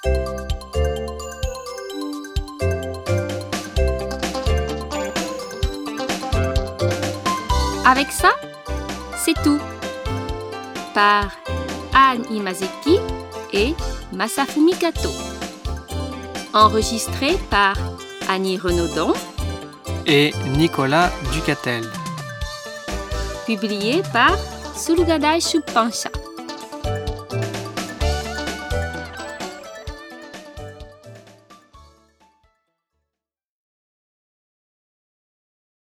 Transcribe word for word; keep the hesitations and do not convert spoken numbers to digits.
Avec ça, c'est tout. Par Anne Imazeki et Masafumi Kato. Enregistré par Annie Renaudon et Nicolas Ducatel. Publié par Sulgadai Shuppansha.